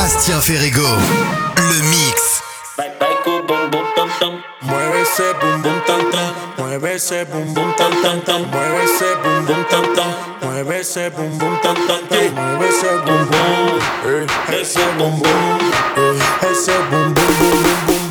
Bastien Ferrego, le mix. Mueve ese boom boom tam tam, mueve ese boom boom tam tam tam, mueve ese boom boom tam tam, mueve ese boom boom tam tam tam, mueve ese boom boom, ese boom boom, ese boom boom boom boom boom.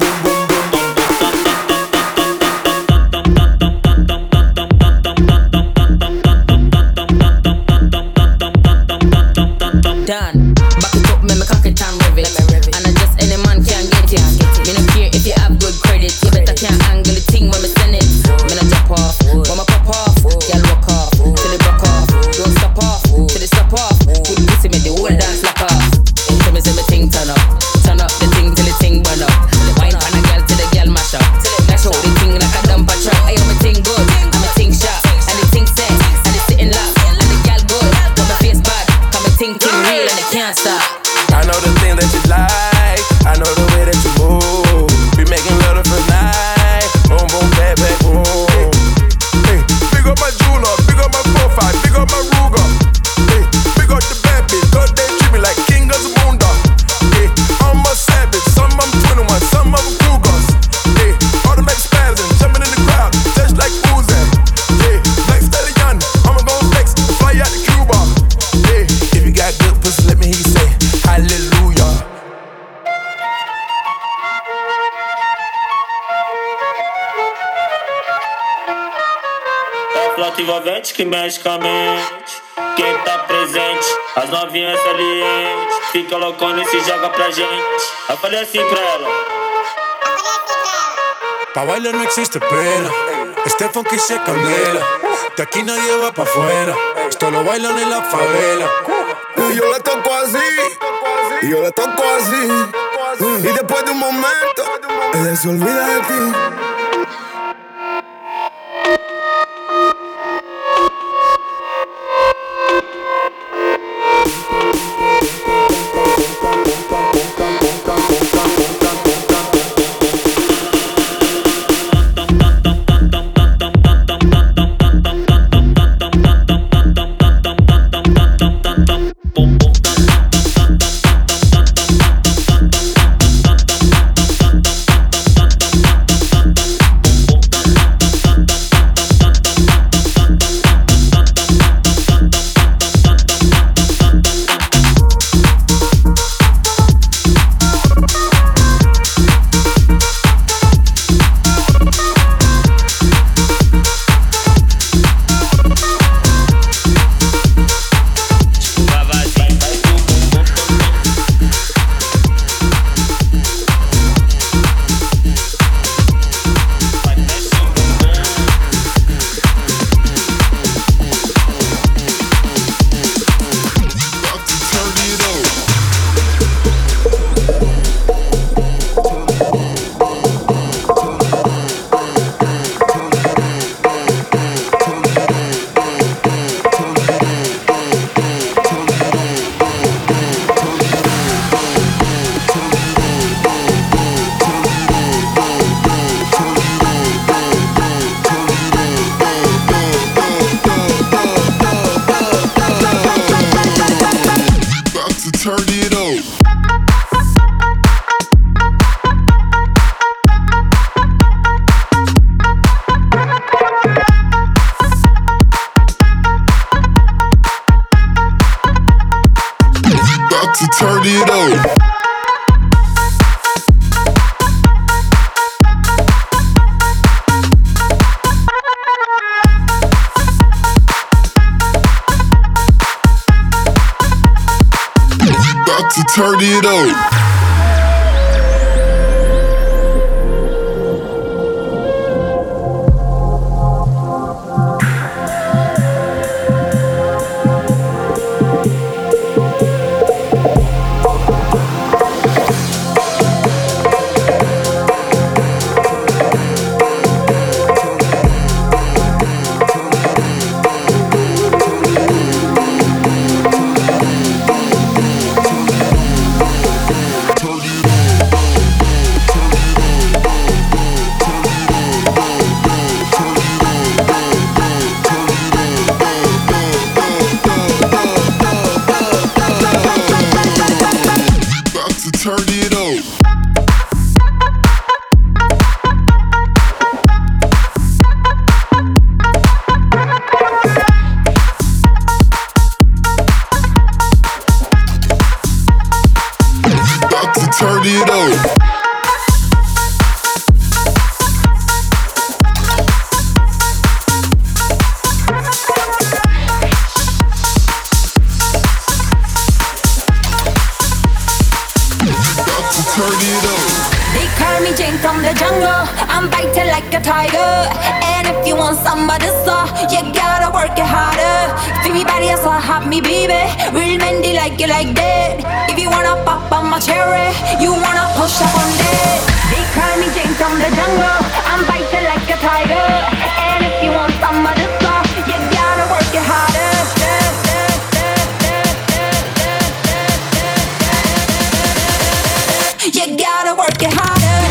Done. Back it up, make me cock it and rev it. And I just any man can get it. Me no care if you have good credit. You better can't angle the thing when me send it. Me no drop off, when me pop off. Girl walk off, till it broke off. Don't stop off, till it stop off. Good pussy make the whole dance lock off. Tell me say me thing turn up the thing till the thing burn up. Wine pan a girl till the girl mash up. Dash out the thing like a dumper truck. I me thing good, and me thing sharp, and the thing set, and it's sitting locked, and the girl good, but my face bad. Ting real and it can't stop. I know the thing that you like, I know the way that you move. We making love the first night, boom boom back back boom. Hey, big up my jeweler, big up my profile, big up my Ruger. Hey, big up the bad bitch, cause they treat me like king of the moon dog. Hey, I'm a savage, some of them 21, some of them Cougars. Hey, automatic spazzing, jumping in the crowd, just like Uzi. Yeah, Black Stallion, I'ma go flex, fly out to Cuba. Yeah, if you got good pussy, let me hear you say hallelujah. É flota envolvente que mexe com a mente. Quem tá presente, as novinhas salientes. Fica loucona e se joga pra gente. Eu falei assim pra ela. Pa' bailar no existe pena, este funky se candela. De aquí nadie va pa' afuera, esto lo bailan en la favela. Y yo la toco así, y yo la toco así. Y después de un momento, ella se olvida de ti. Turn it up. About to turn it up. turn it up. Turn it up. They call me Jane from the jungle. I'm biting like a tiger. And if you want some of this, you gotta work it harder. Feel me body, so hot me baby. Real Mendy like you like that. If you wanna pop on my cherry, you wanna push up on that. They call me Jane from the jungle. I'm biting like a tiger. And if you want some of this, you gotta work it harder. You gotta work it harder.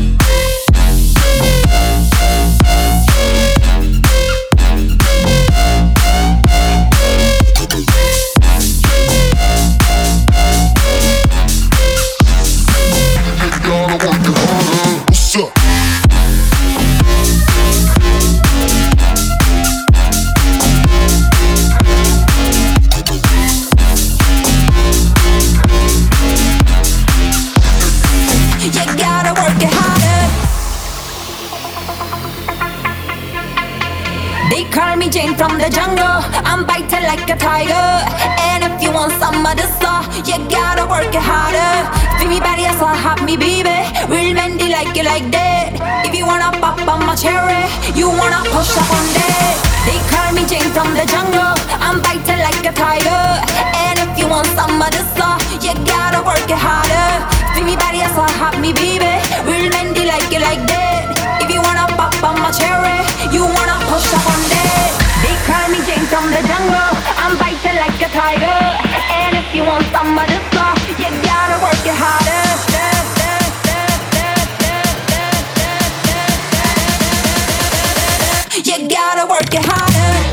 Jane from the jungle, I'm biting like a tiger. And if you want some of this, you gotta work it harder. Feel me body, so hot me baby. Real Mendy like you like that. If you wanna pop on my cherry, you wanna push up on that. They call me Jane from the jungle, I'm biting like a tiger. And if you want some of this, you gotta work it harder. Feel me body, so hot me baby. Real Mendy like you like that. If you wanna pop on my cherry, you wanna push up on that. They call me Jane from the jungle, I'm biting like a tiger. And if you want some of this, you gotta work it harder. You gotta work it harder.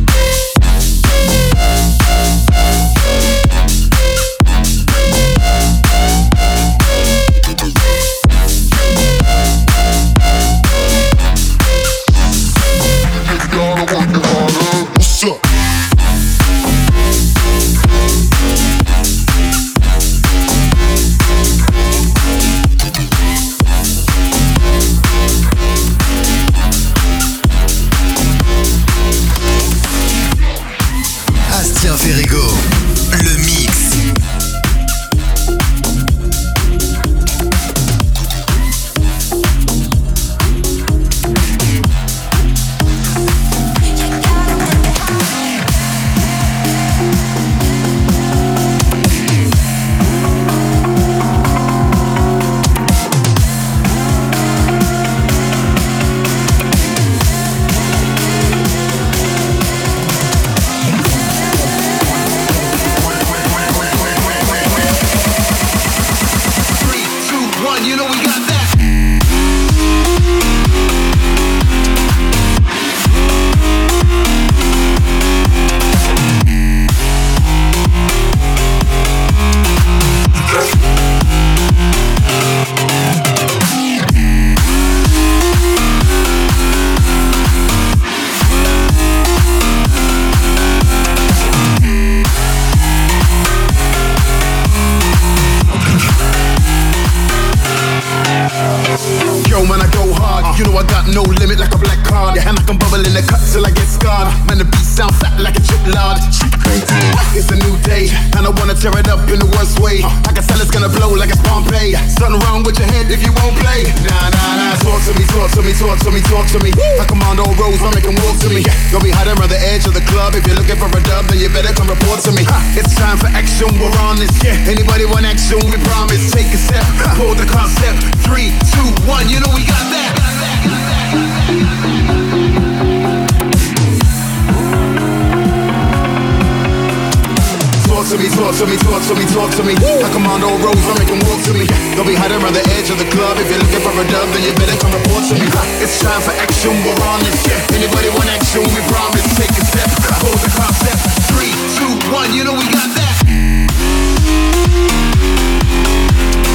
Talk to me. I command all roads, I'm making walk to me. Don't be hiding around the edge of the club. If you're looking for a dub, then you better come report to me. It's time for action, we're on this. Anybody want action, we promise. Take a step, hold the concept. 3, 2, 1, you know we got that.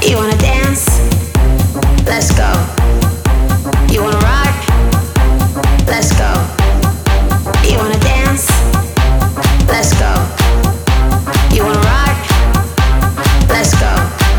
You wanna dance? Let's go. You wanna rock? Let's go. You wanna dance? Let's go. You wanna rock? Let's go.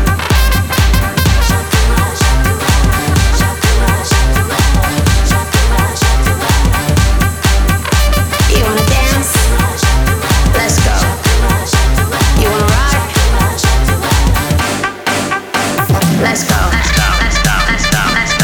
You wanna dance? Let's go. You wanna rock? Let's go. Let's go. Let's go. Let's go. Let's go.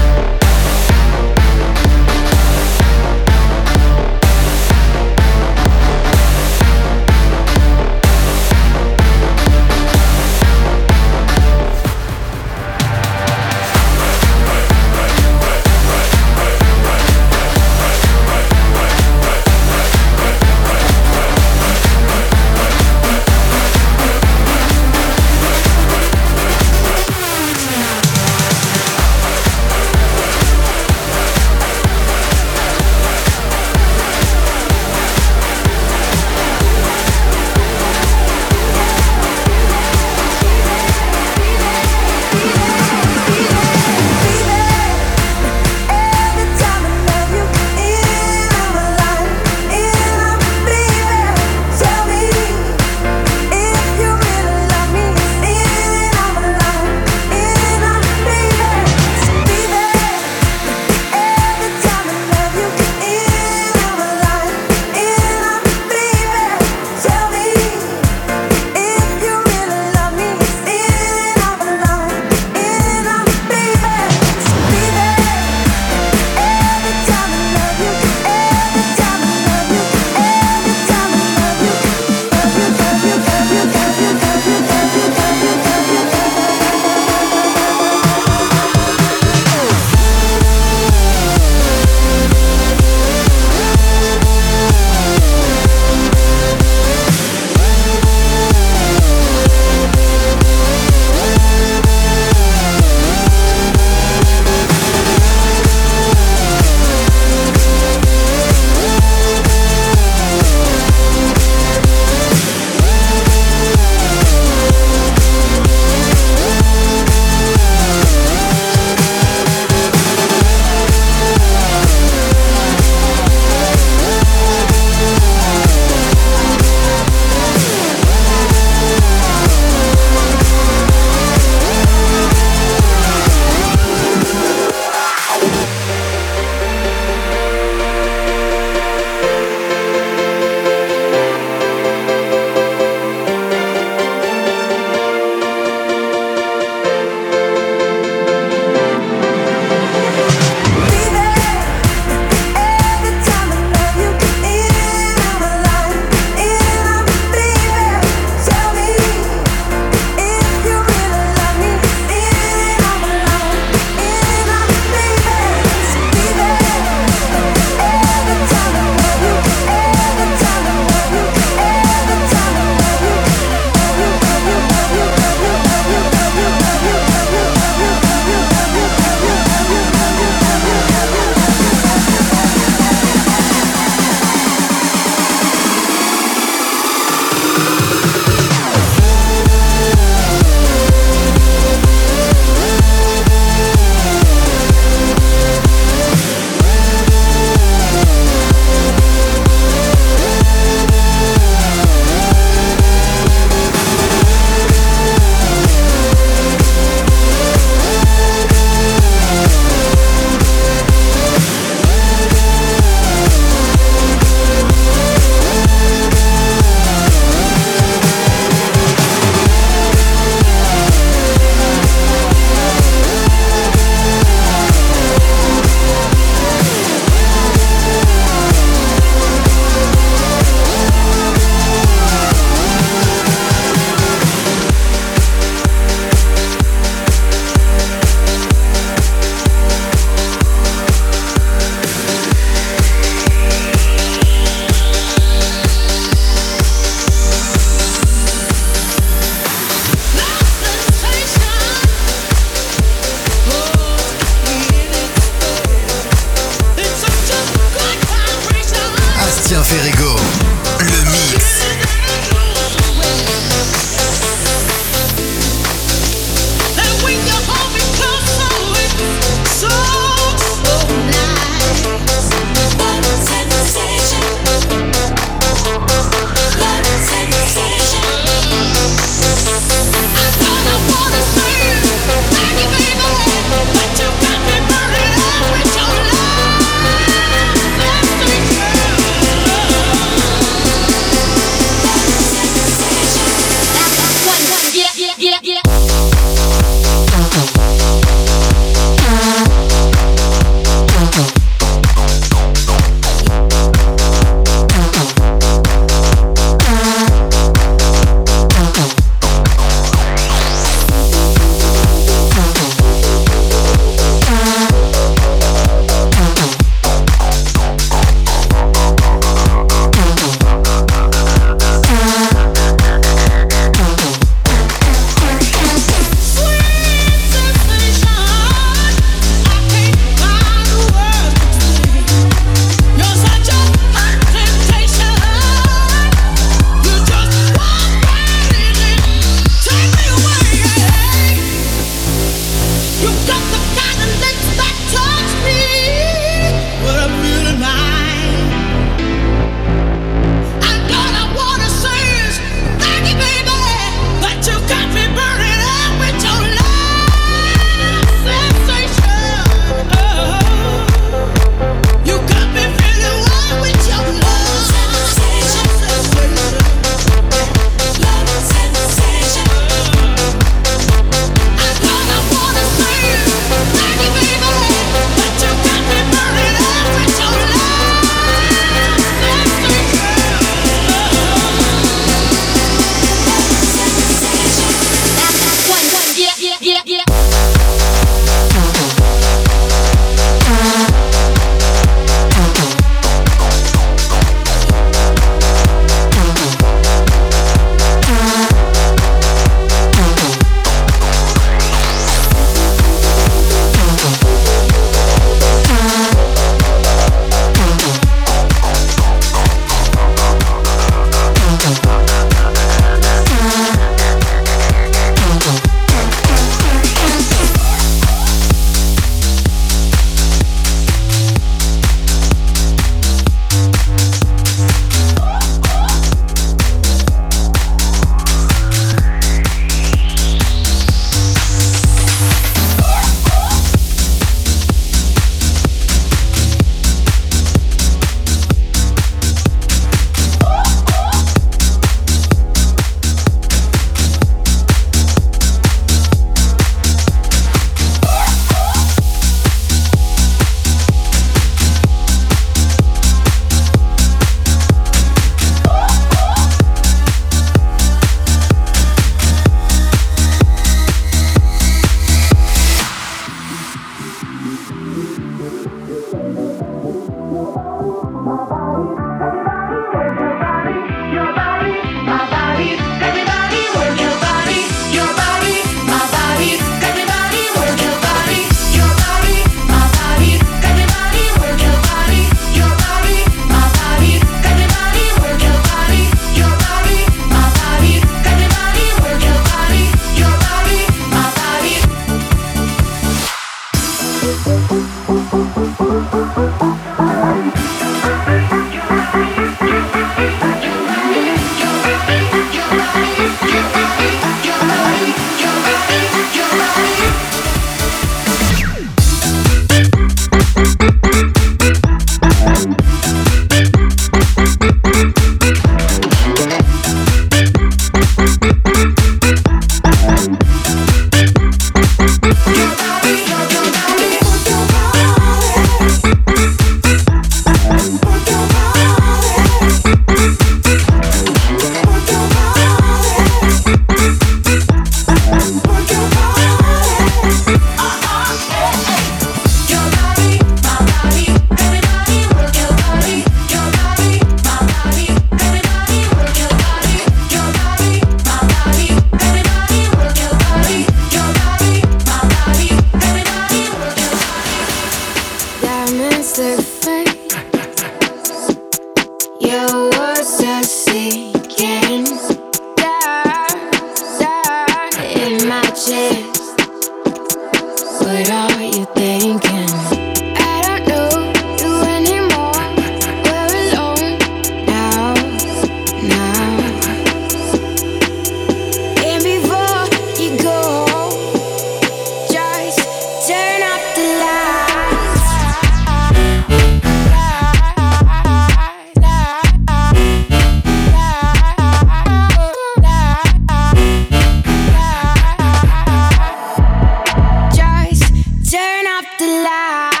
the light.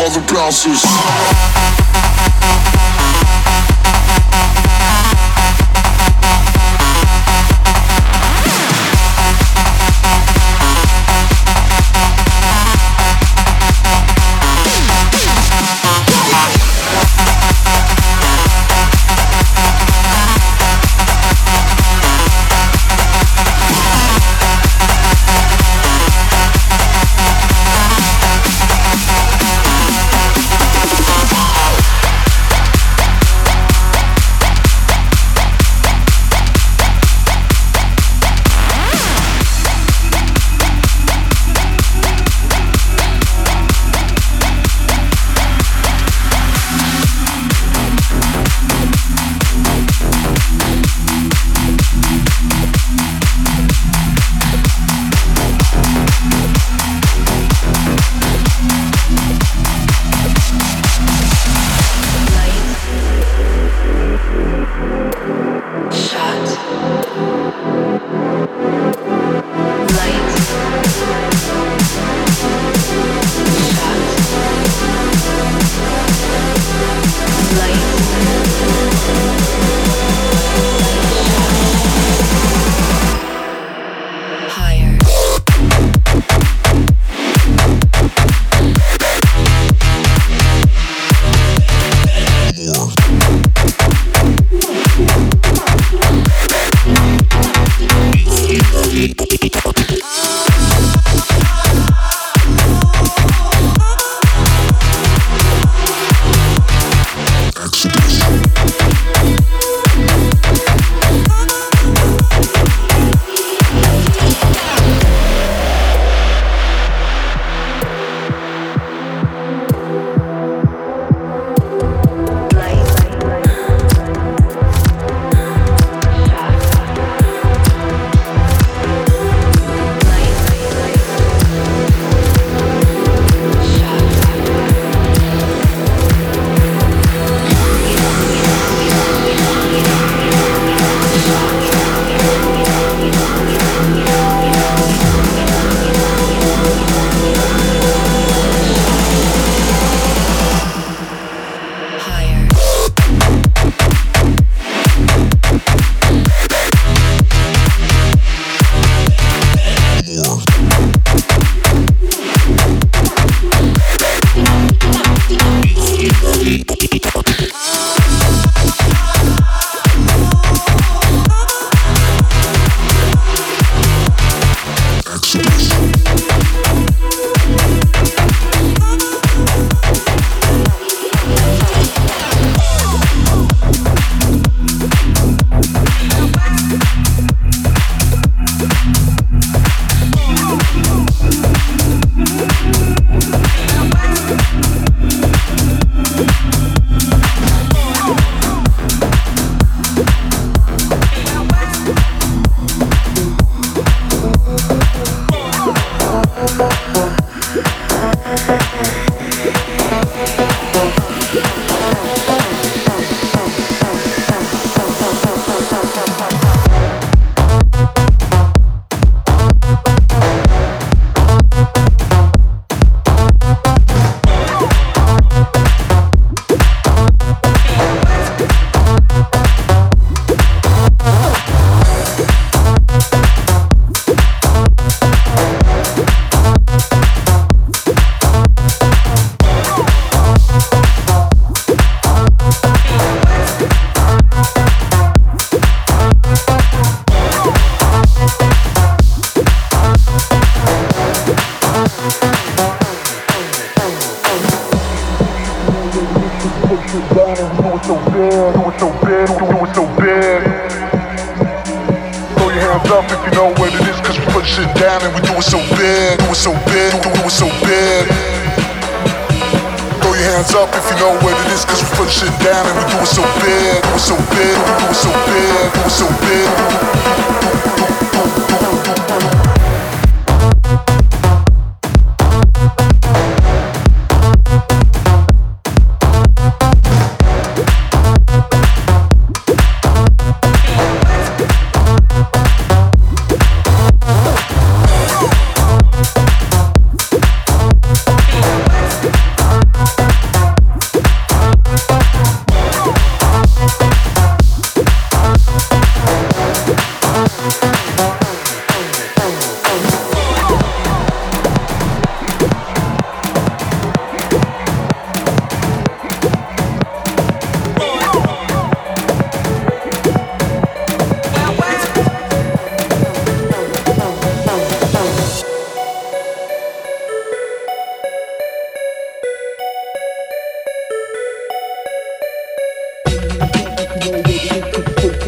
all the bouncers.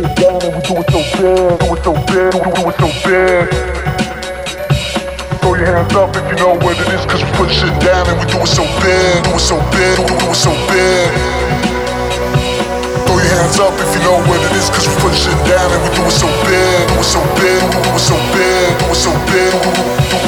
shit down and we do it so bad, do it so bad, do it so bad. Throw your hands up if you know what it is, cause we put shit down and we do it so bad, do it so bad, do it so bad. Throw your hands up if you know what it is, cause we put shit down and we do it so bad, do it so bad, do it so bad, do it so bad.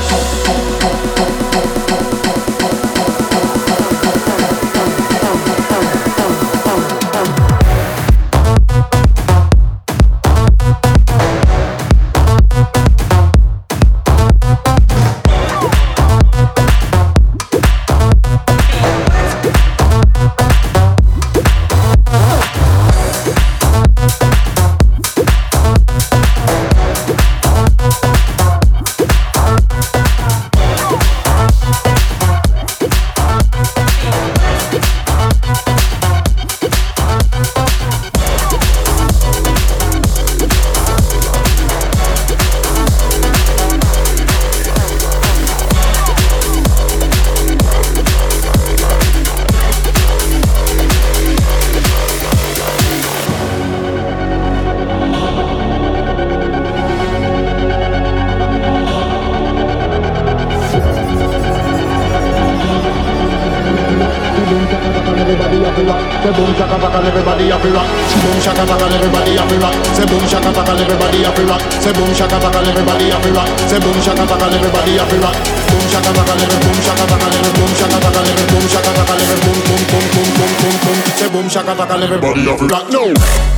Say boom shaka baka, everybody happy rock. Boom shaka baka, everybody happy rock. Say boom shaka baka, everybody happy rock. Say boom shaka baka, everybody happy rock. Say boom shaka baka, everybody happy rock. Boom shaka baka, boom shaka baka, boom shaka baka, boom shaka baka, boom boom boom boom boom boom boom. Say boom shaka baka, everybody happy rock. No.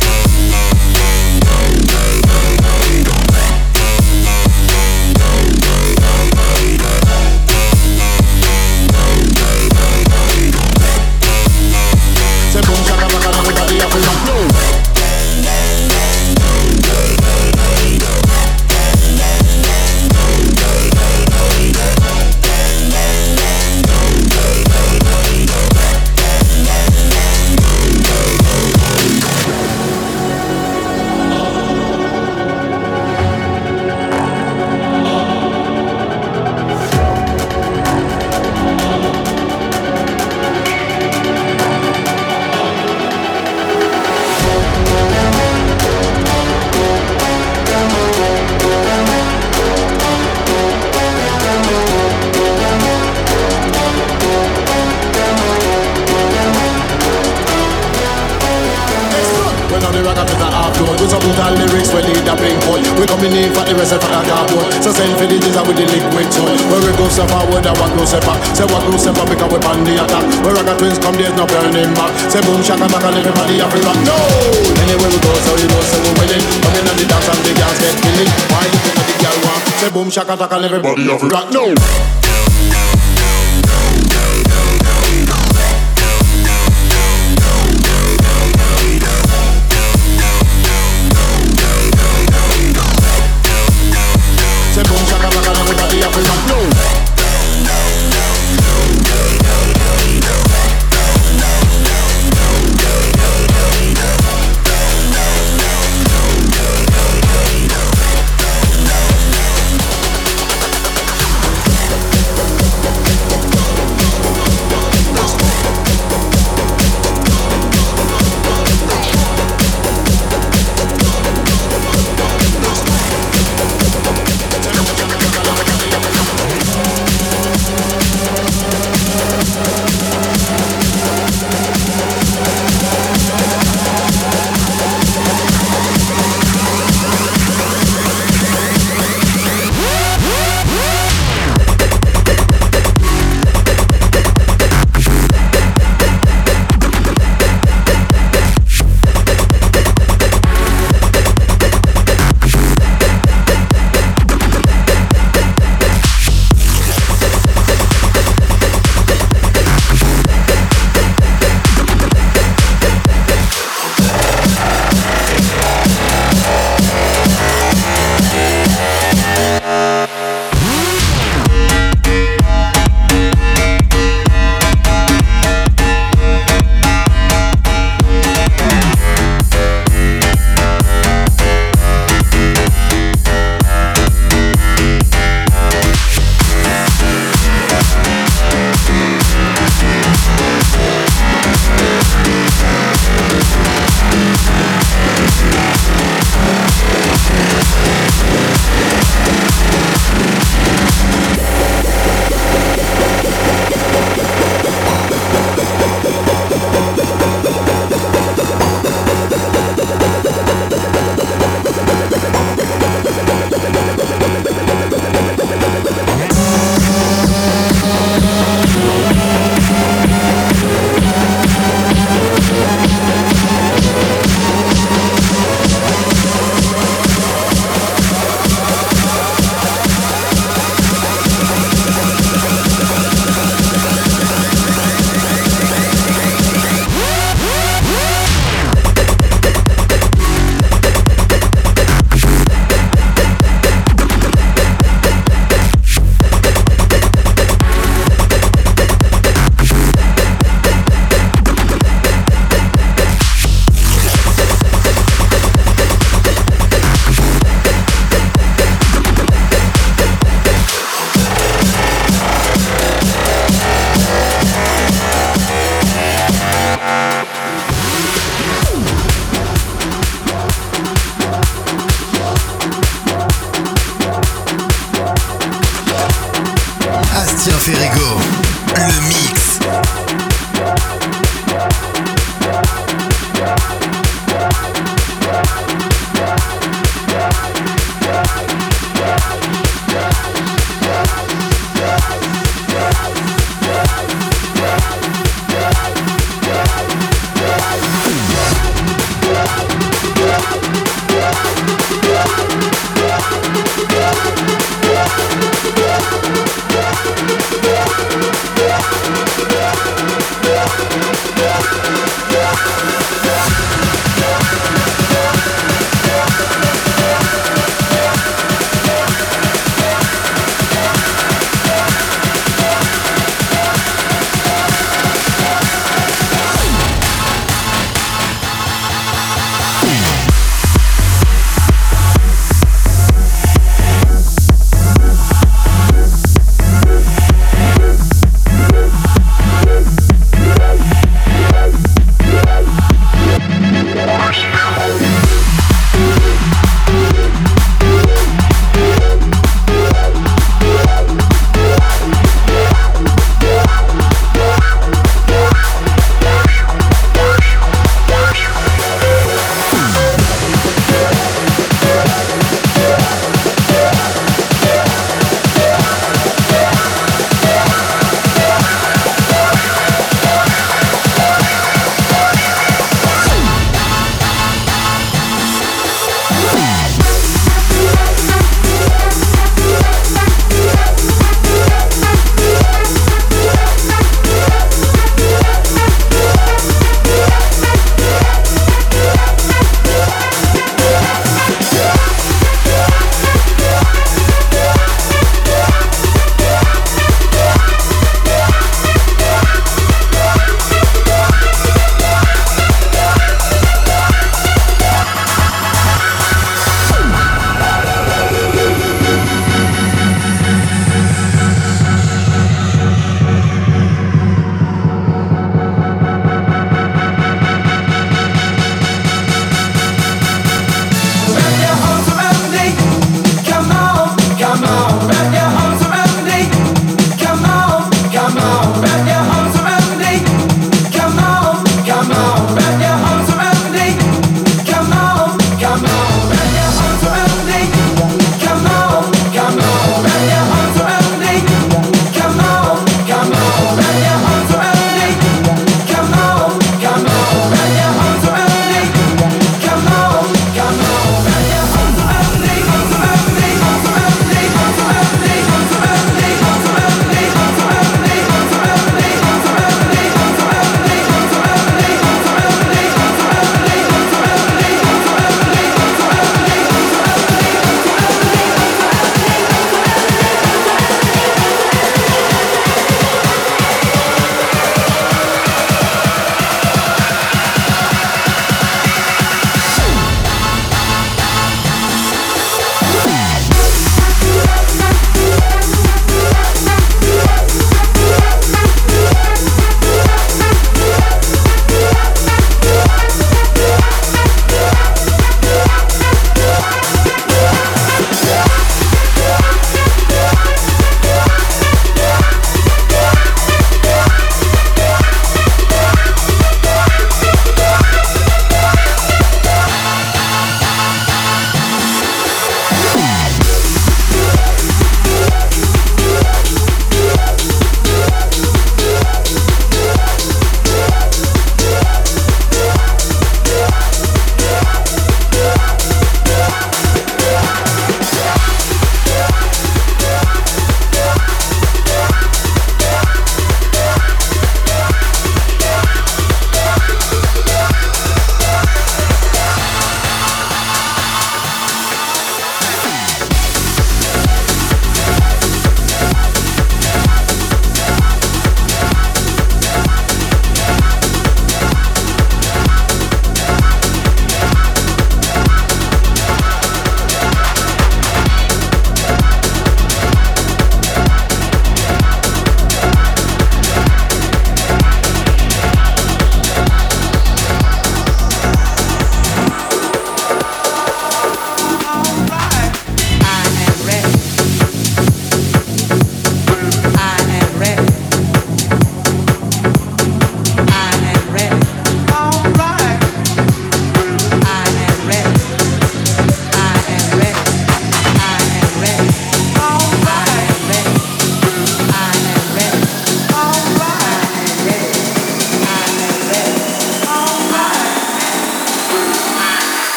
With some brutal lyrics, we lead the pink boy. We coming in for the rest of the cardboard. So send for the diesel with the liquid toy. Where we go step forward, I walk go step back. Say walk go step back because we on the attack. Where Ragga Twins come, there's no burning back. Say boom shaka baka, everybody happy rock. No! Anywhere we go, so you know, say we winning. Coming on the dance and the girls get killing. Why you think the girl want? Say boom shaka baka, everybody happy rock. No!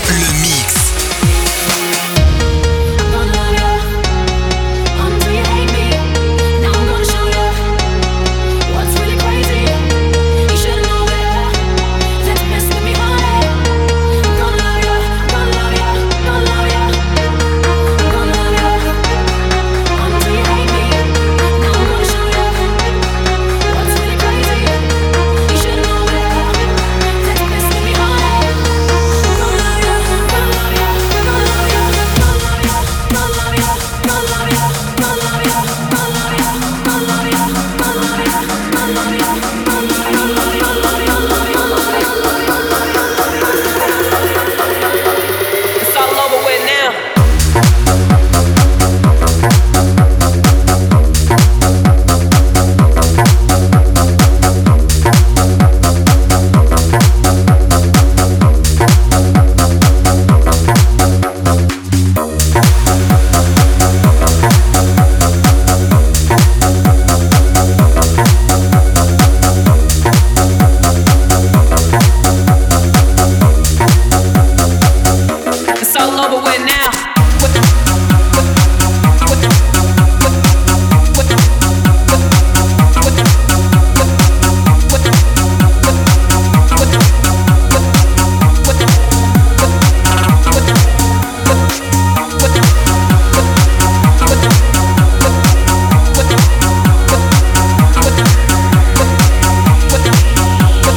Le mix.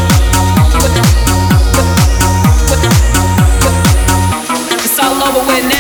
Over with now.